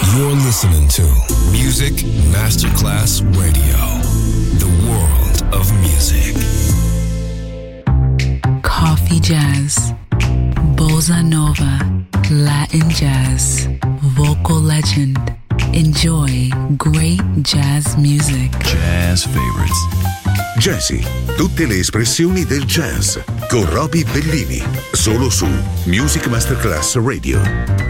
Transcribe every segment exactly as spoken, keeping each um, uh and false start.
You're listening to Music Masterclass Radio, the world of music. Coffee jazz, bossa nova, Latin jazz, vocal legend. Enjoy great jazz music. Jazz favorites. Jazzy, tutte le espressioni del jazz con Roby Bellini, solo su Music Masterclass Radio.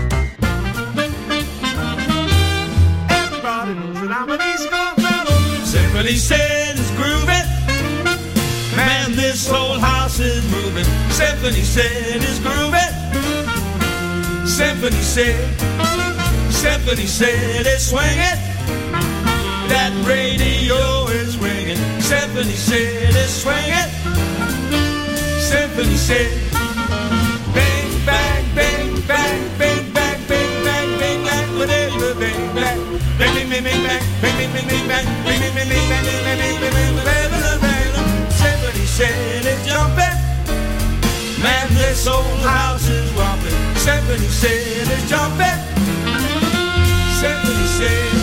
Symphony said it's grooving. Man, this whole house is moving. Symphony said it's grooving. Symphony said, Symphony said it's swinging. That radio is ringing. Symphony said it's swinging. Symphony said, bang, bang, bang, bang, bang, bang, bang, bang, bang, bang, whatever, bang, bang, bang, bang, bang, bang, bang, bang, bang, bang, bang, bang, bang, bang, bang, bang, bang, bang. Symphony said it's jumping. Man, this old house is romping. Symphony said it's jumping. Symphony said.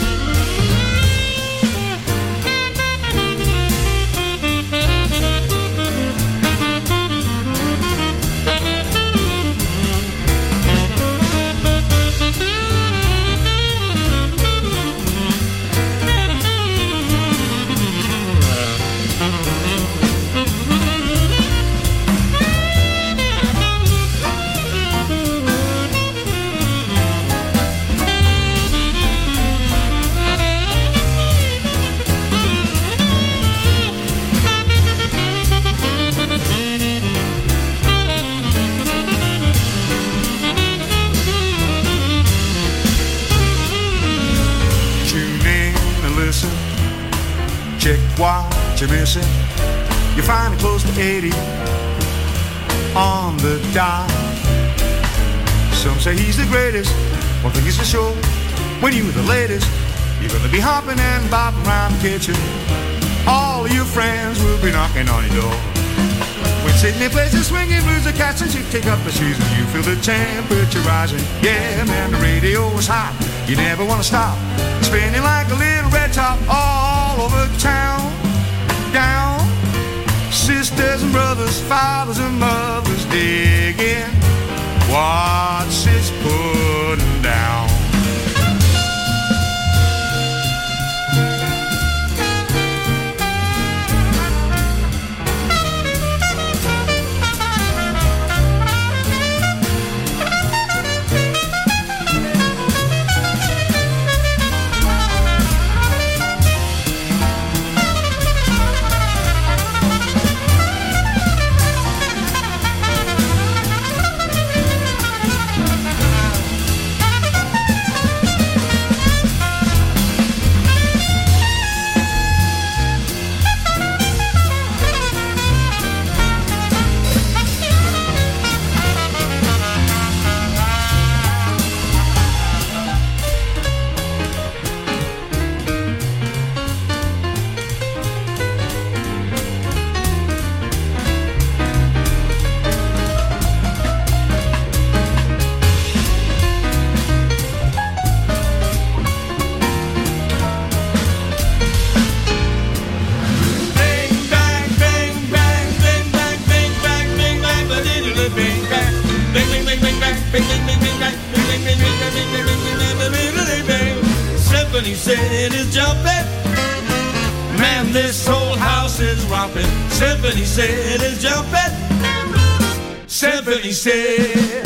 Check what you're missing. You're finally close to eighty on the dot. Some say he's the greatest. One thing is for sure, when you're the latest, you're gonna be hopping and bopping around the kitchen. All of your friends will be knocking on your door. When Sydney plays the swinging blues, the cats and you take up the shoes and you feel the temperature rising. Yeah, man, the radio is hot. You never wanna stop. Spinning like a little red top all over town. Down, sisters and brothers, fathers and mothers digging what's it's putting down. Symphony said it's jumping. Man, this whole house is romping. Symphony said it's jumping. Symphony said.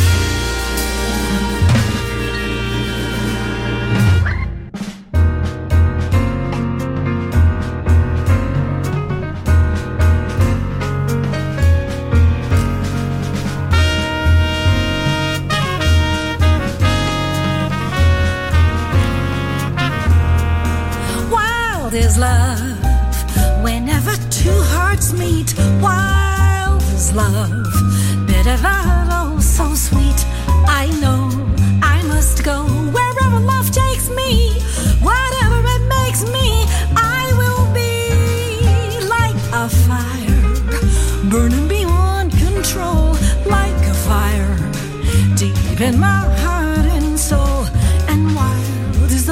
Is love whenever two hearts meet. Wild is love, bitter love, oh so sweet. I know I must go wherever love takes me. Whatever it makes me, I will be like a fire, burning beyond control, like a fire deep in my heart and soul. And wild is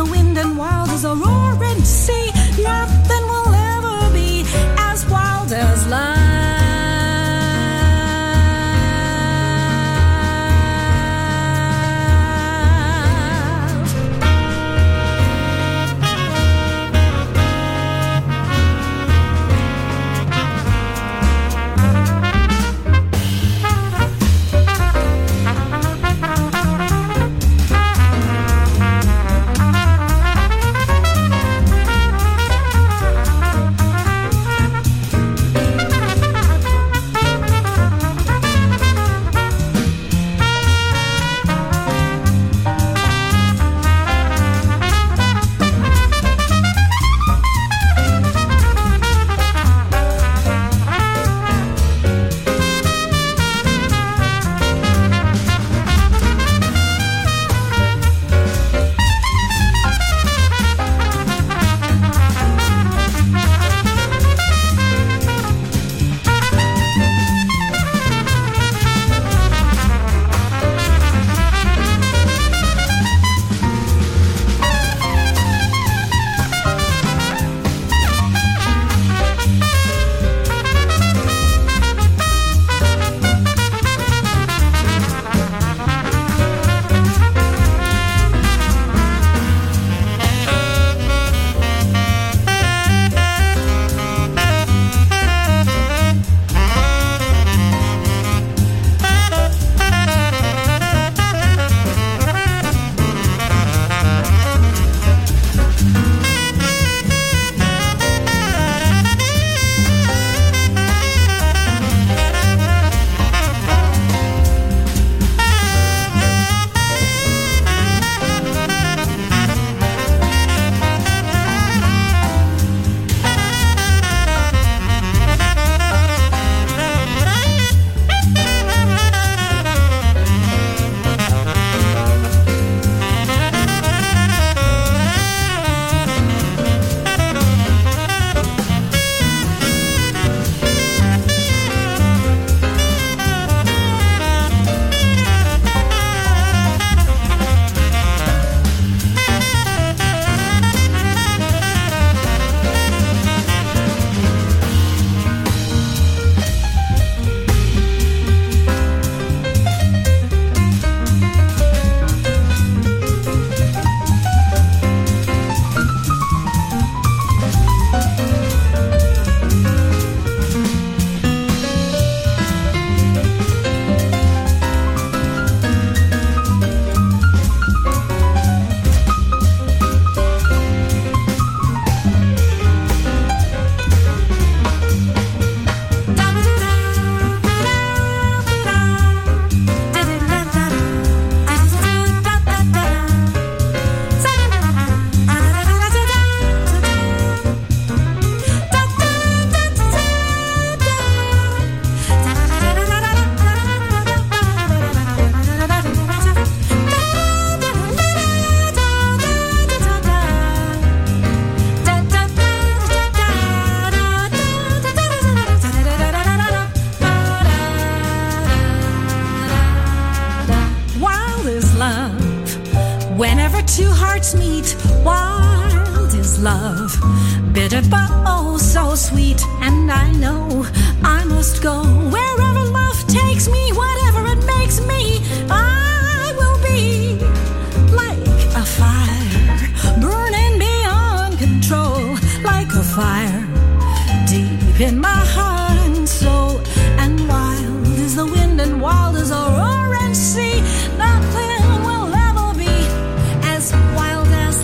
Whenever two hearts meet, wild is love, bitter but oh so sweet. And I know I must go wherever love takes me, whatever it makes me. I will be like a fire, burning beyond control, like a fire deep in my heart and soul. And wild is the wind and wild is a roaring sea. Nothing will ever be as wild as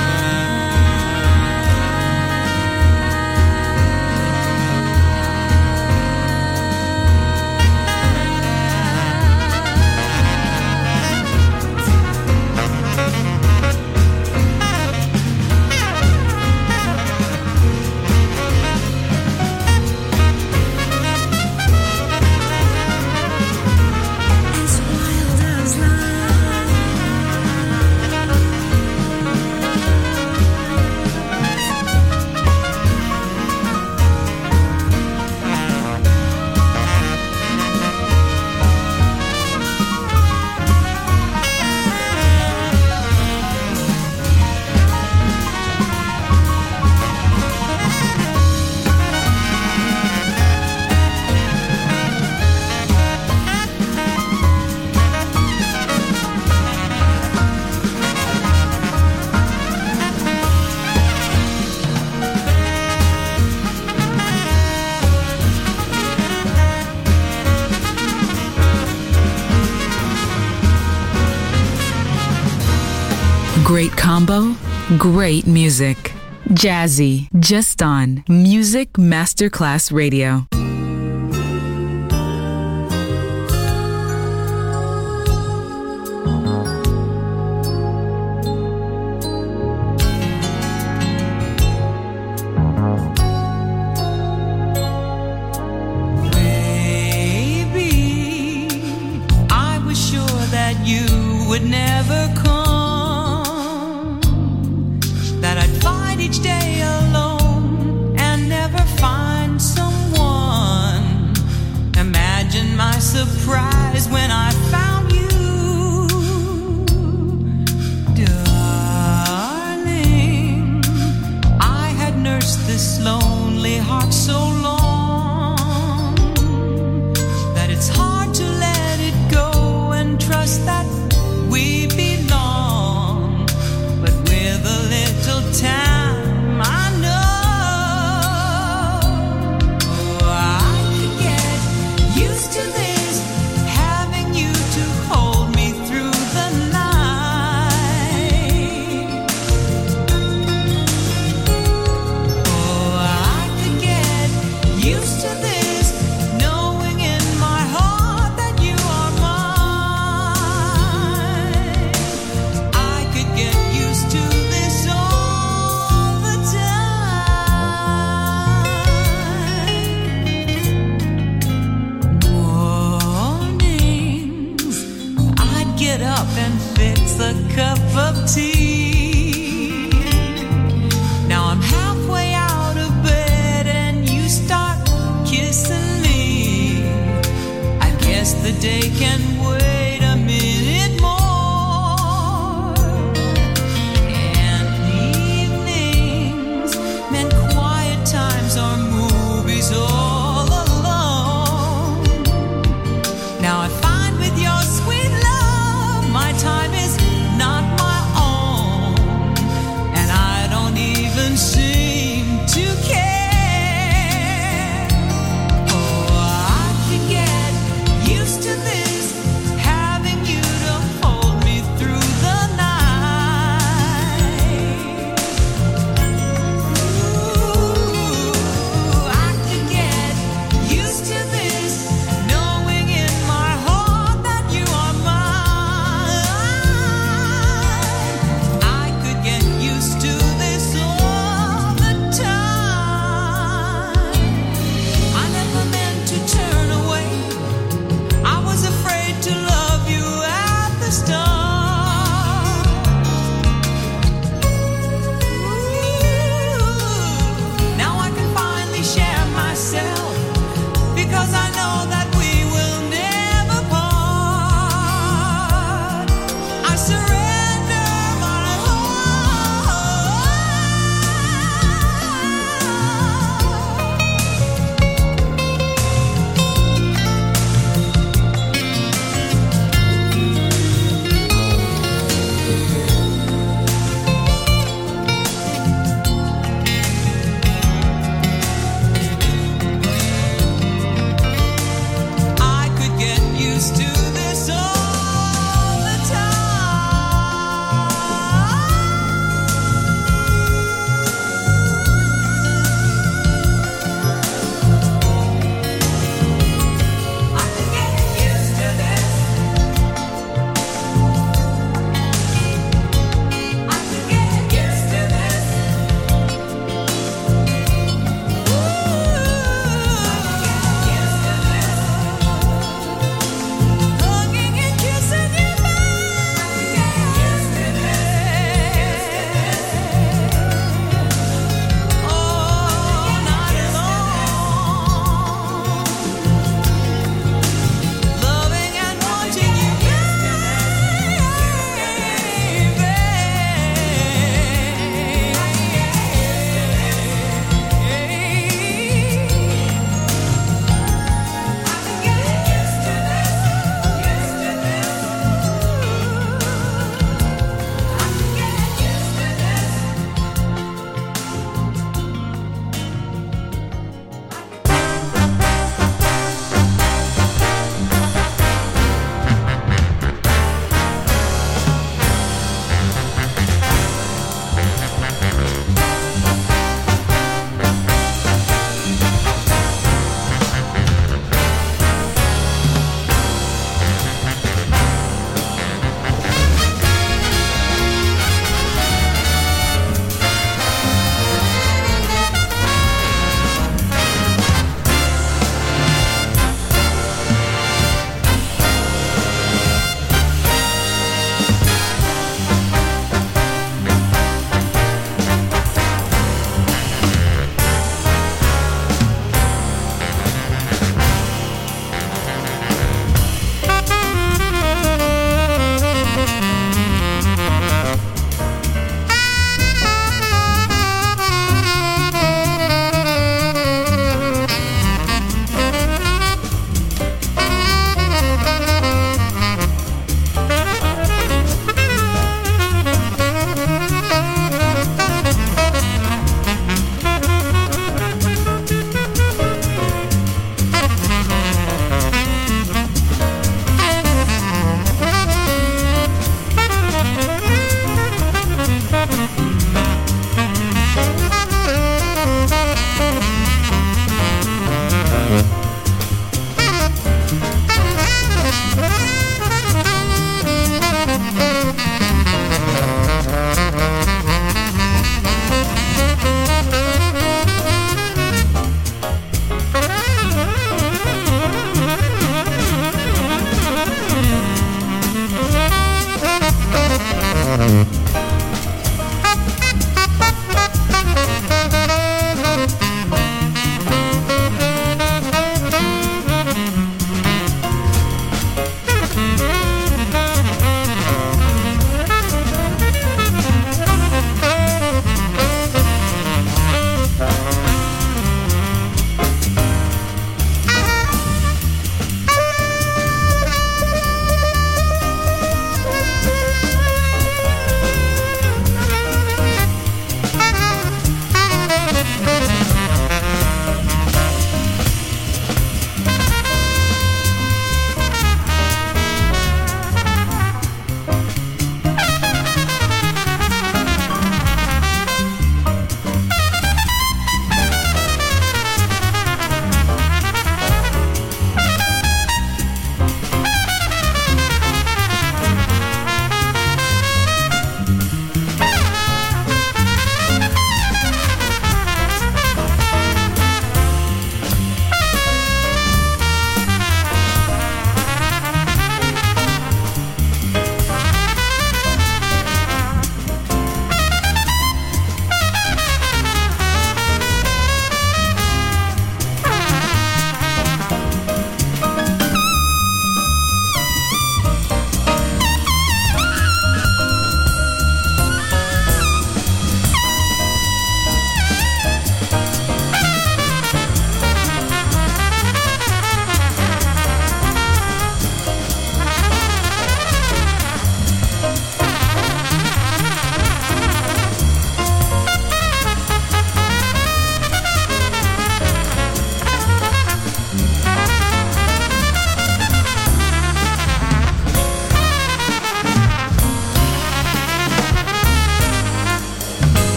Great combo, great music. Jazzy, just on Music Masterclass Radio. Baby, I was sure that you would never come. Each day alone and never find someone. Imagine my surprise when I found you, darling. I had nursed this lonely heart so long that it's hard to let it go and trust that we belong. But with a little time a cup of tea. Now I'm halfway out of bed and you start kissing me. I guess the day can wait a minute more. And evenings meant quiet times or movies all alone. Now I find with your sweet love my time is not my own.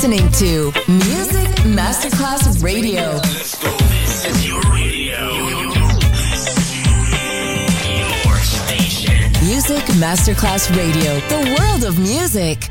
listening to Music Masterclass Radio. Let's go. This is your radio. Your station. Music Masterclass Radio. The world of music.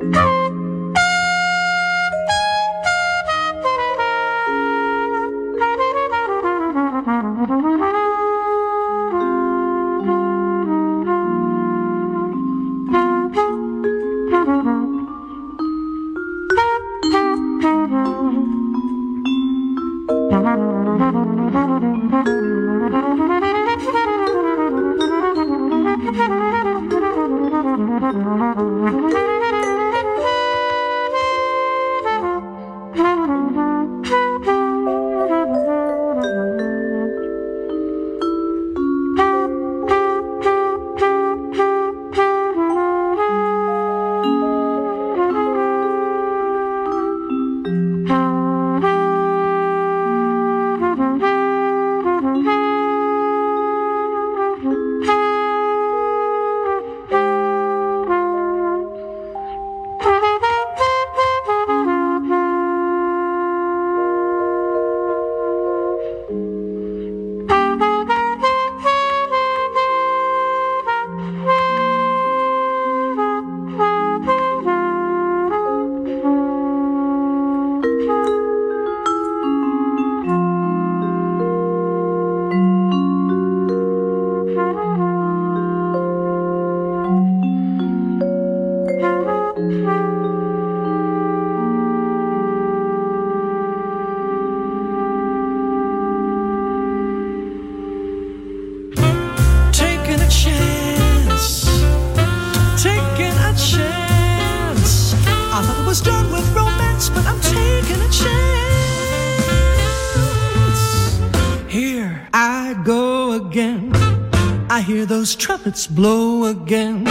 Those trumpets blow again,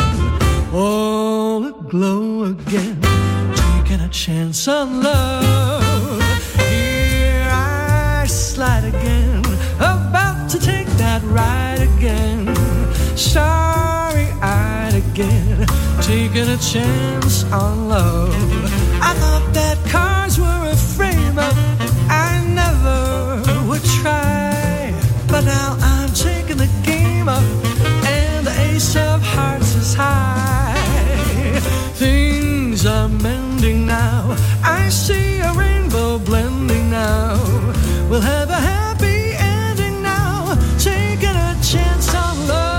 all aglow again, taking a chance on love. Here I slide again, about to take that ride again, starry-eyed again, taking a chance on love. I thought that cars were a frame up, I never would try, but now I'm taking the game up, and the ace of hearts is high. Things are mending now, I see a rainbow blending now. We'll have a happy ending now, taking a chance on love.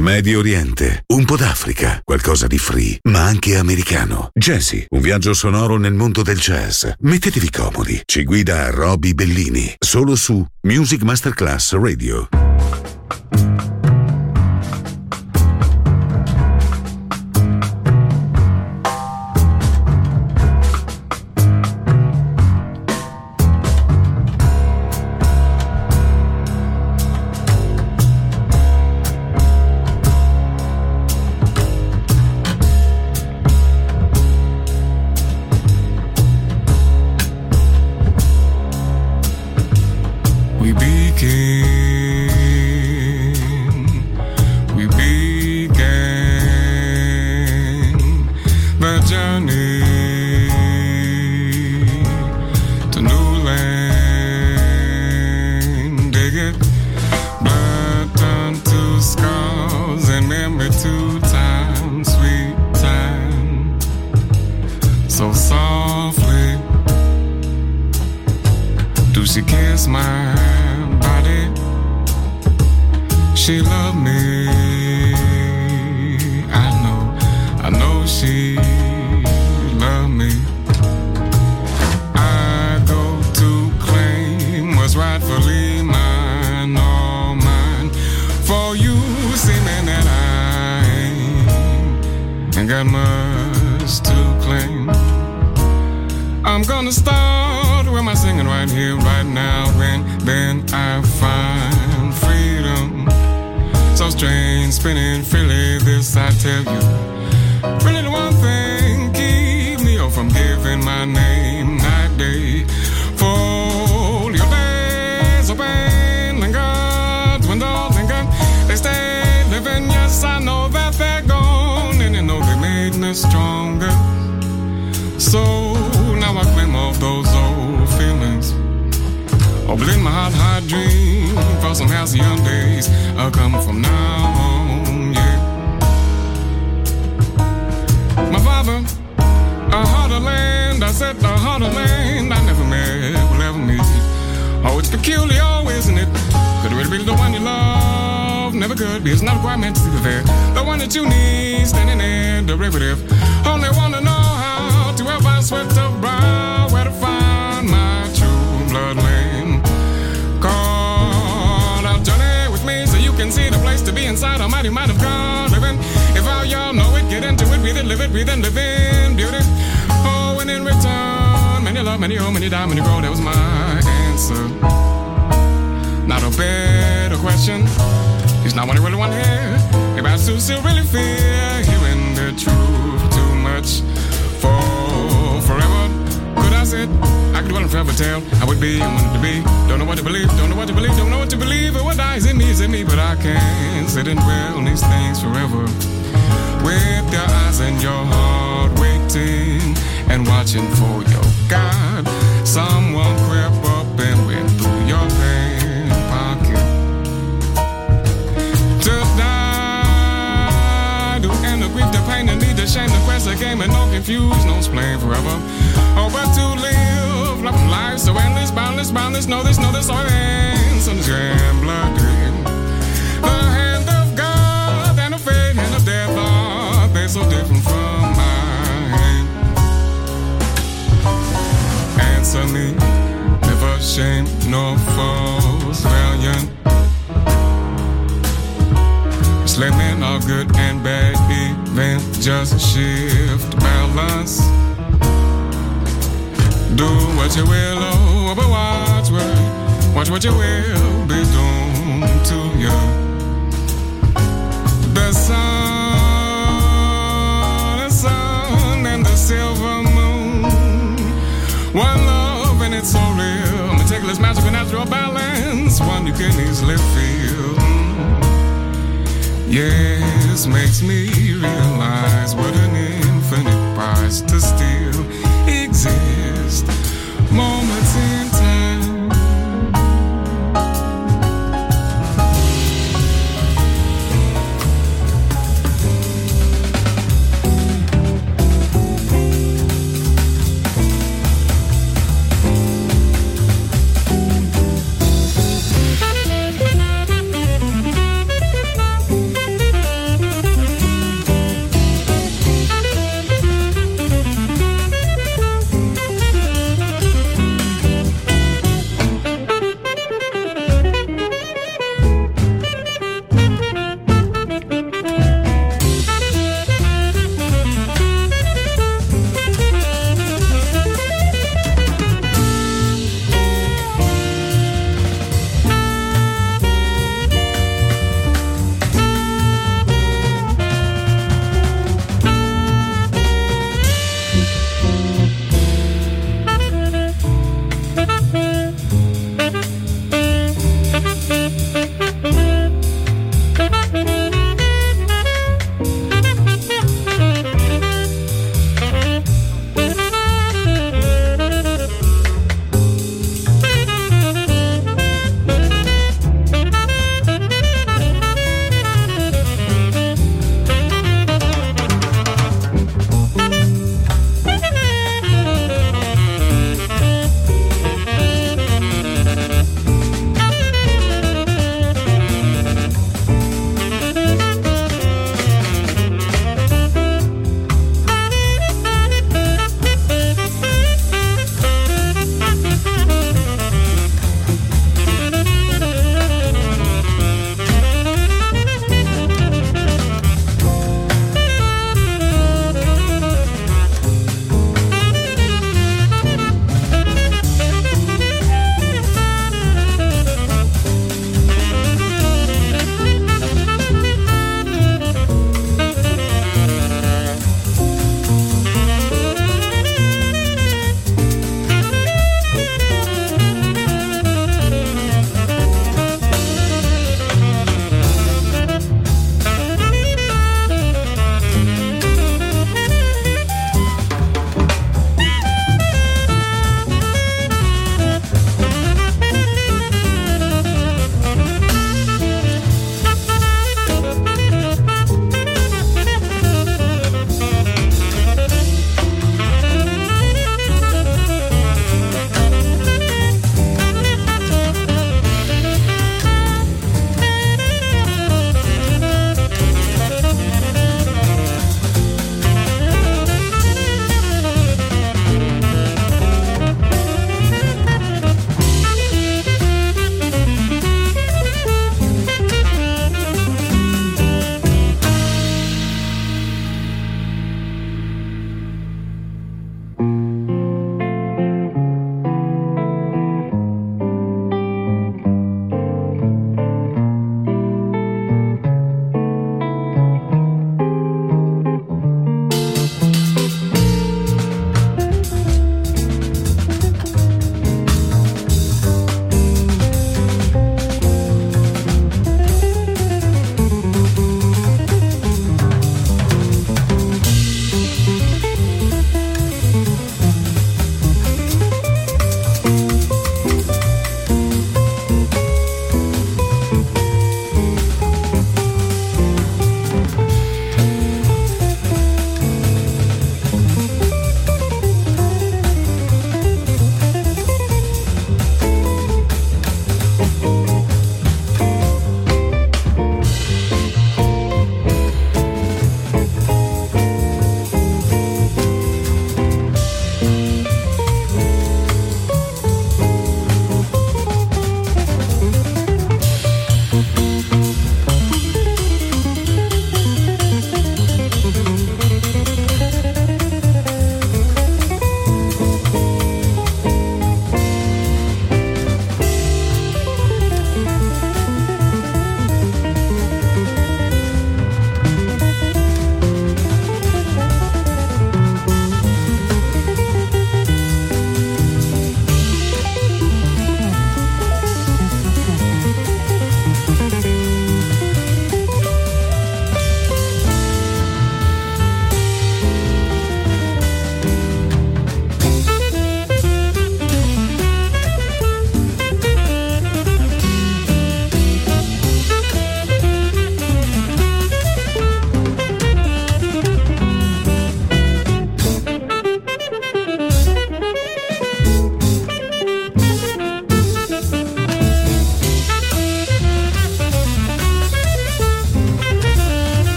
Medio Oriente, un po' d'Africa, qualcosa di free, ma anche americano. Jazzy, un viaggio sonoro nel mondo del jazz. Mettetevi comodi. Ci guida Roby Bellini, solo su Music Masterclass Radio.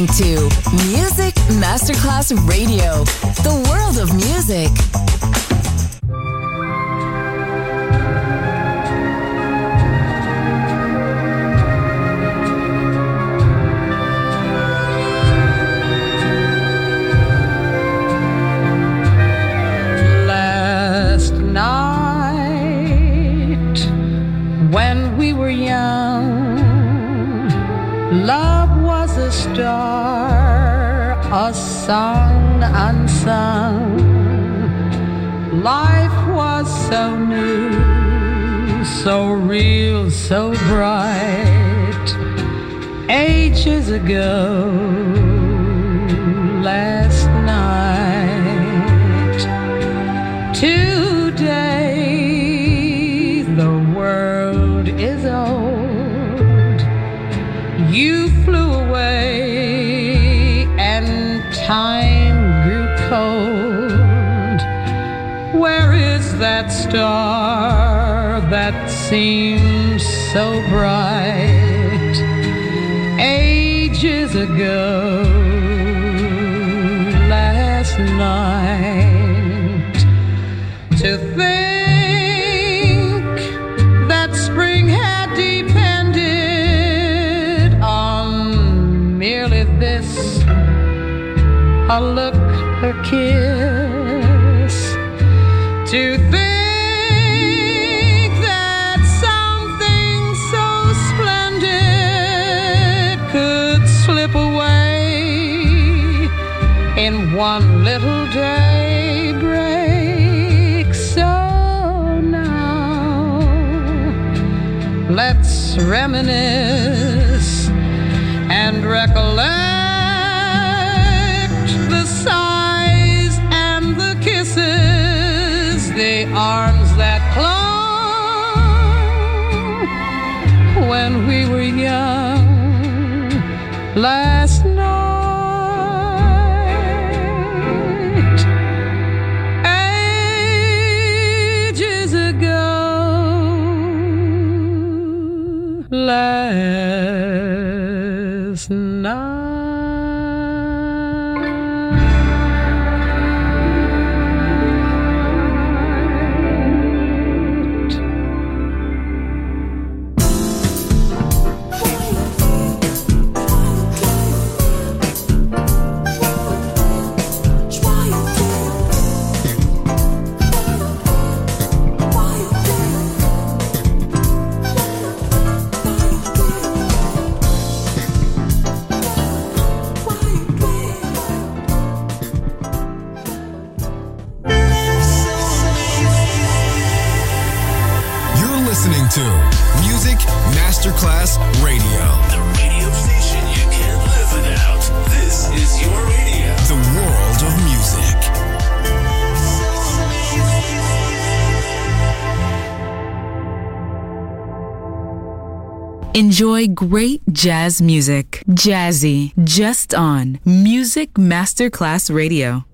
listening to Music Masterclass Radio, the world of music. Last night, when we were young, love was a star, a song unsung. Life was so new, so real, so bright. Ages ago, last night. Today, the world is old. You flew away and time grew cold. Where is that star that seems so bright? Ages ago, last night. To think that spring had depended on merely this, a look, a kiss. To think that something so splendid could slip away in one little daybreak. So now let's reminisce and recollect the sighs and the kisses, the arms that clung when we were young last night. Ages ago, last night. Masterclass Radio. The radio station you can't live without. This is your radio. The world of music. Enjoy great jazz music. Jazzy, just on Music Masterclass Radio.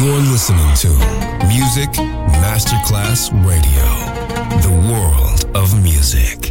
You're listening to Music Masterclass Radio, the world of music.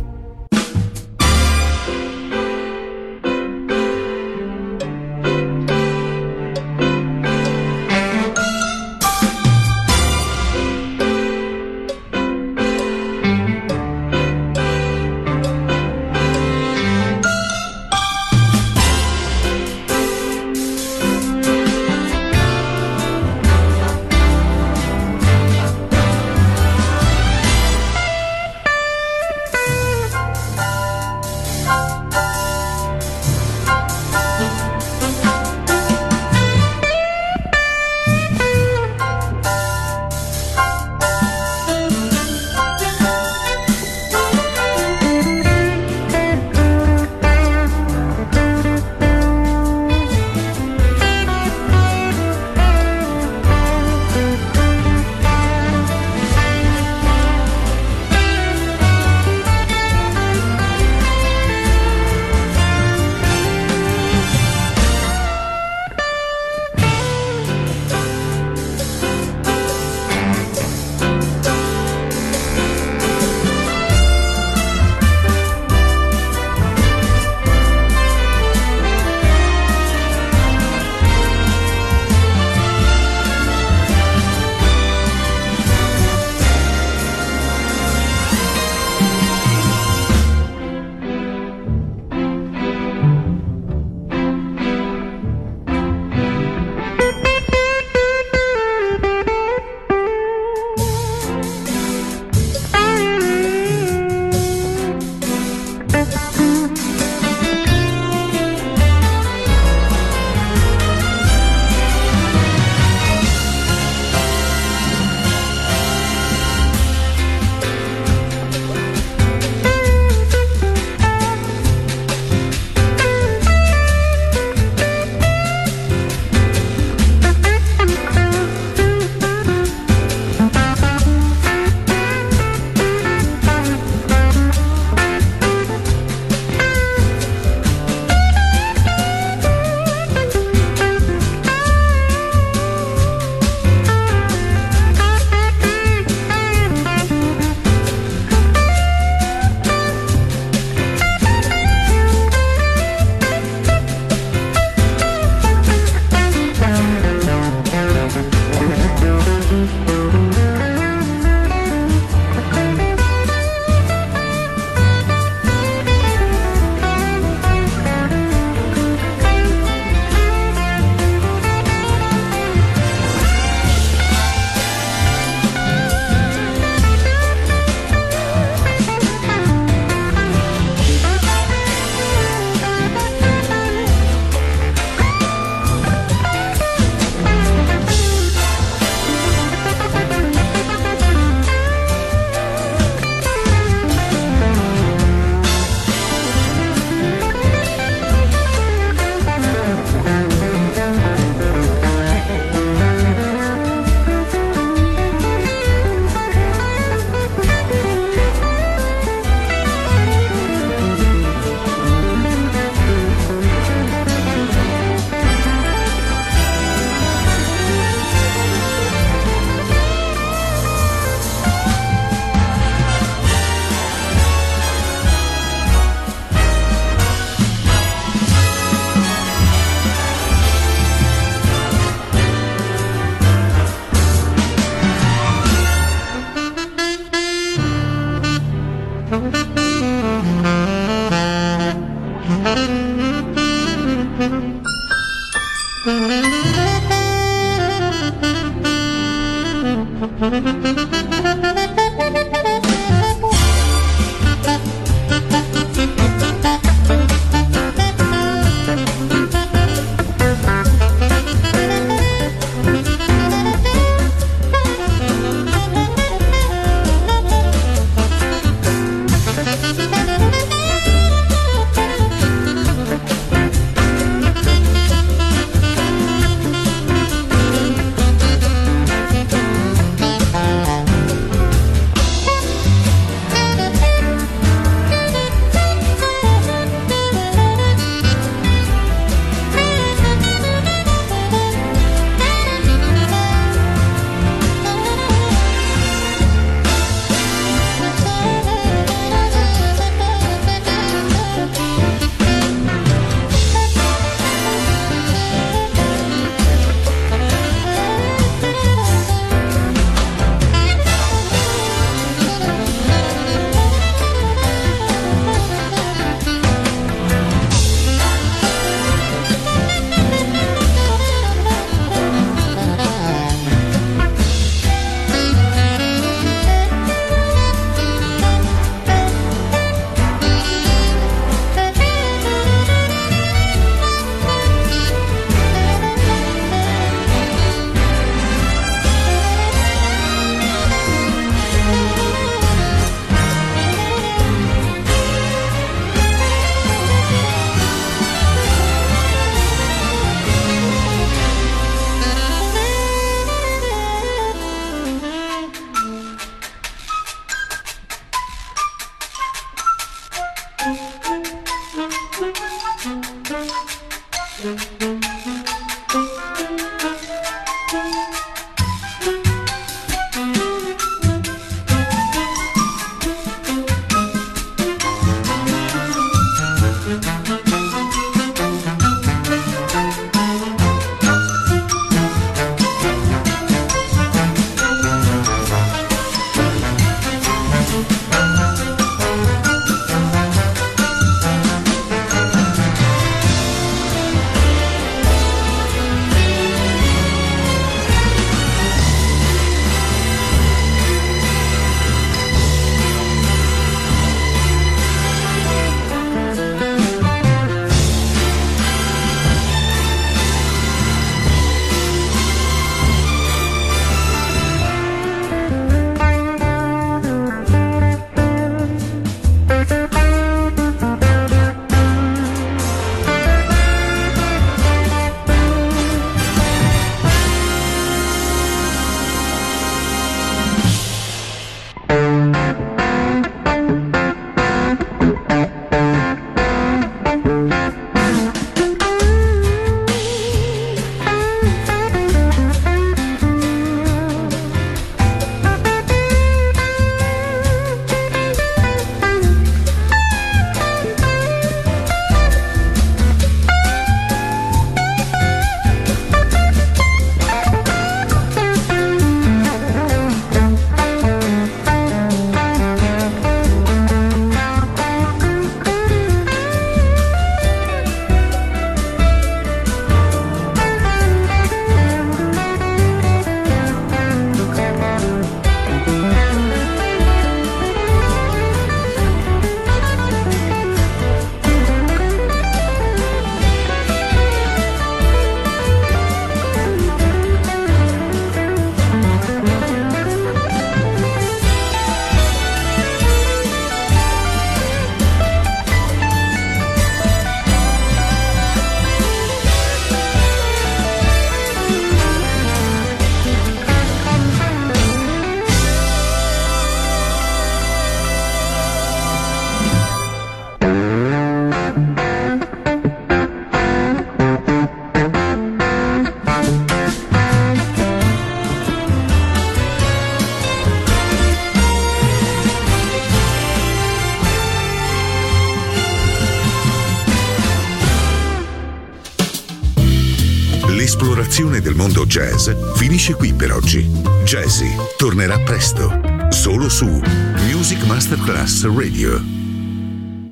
L'esplorazione del mondo jazz finisce qui per oggi. Jazzy tornerà presto, solo su Music Masterclass Radio.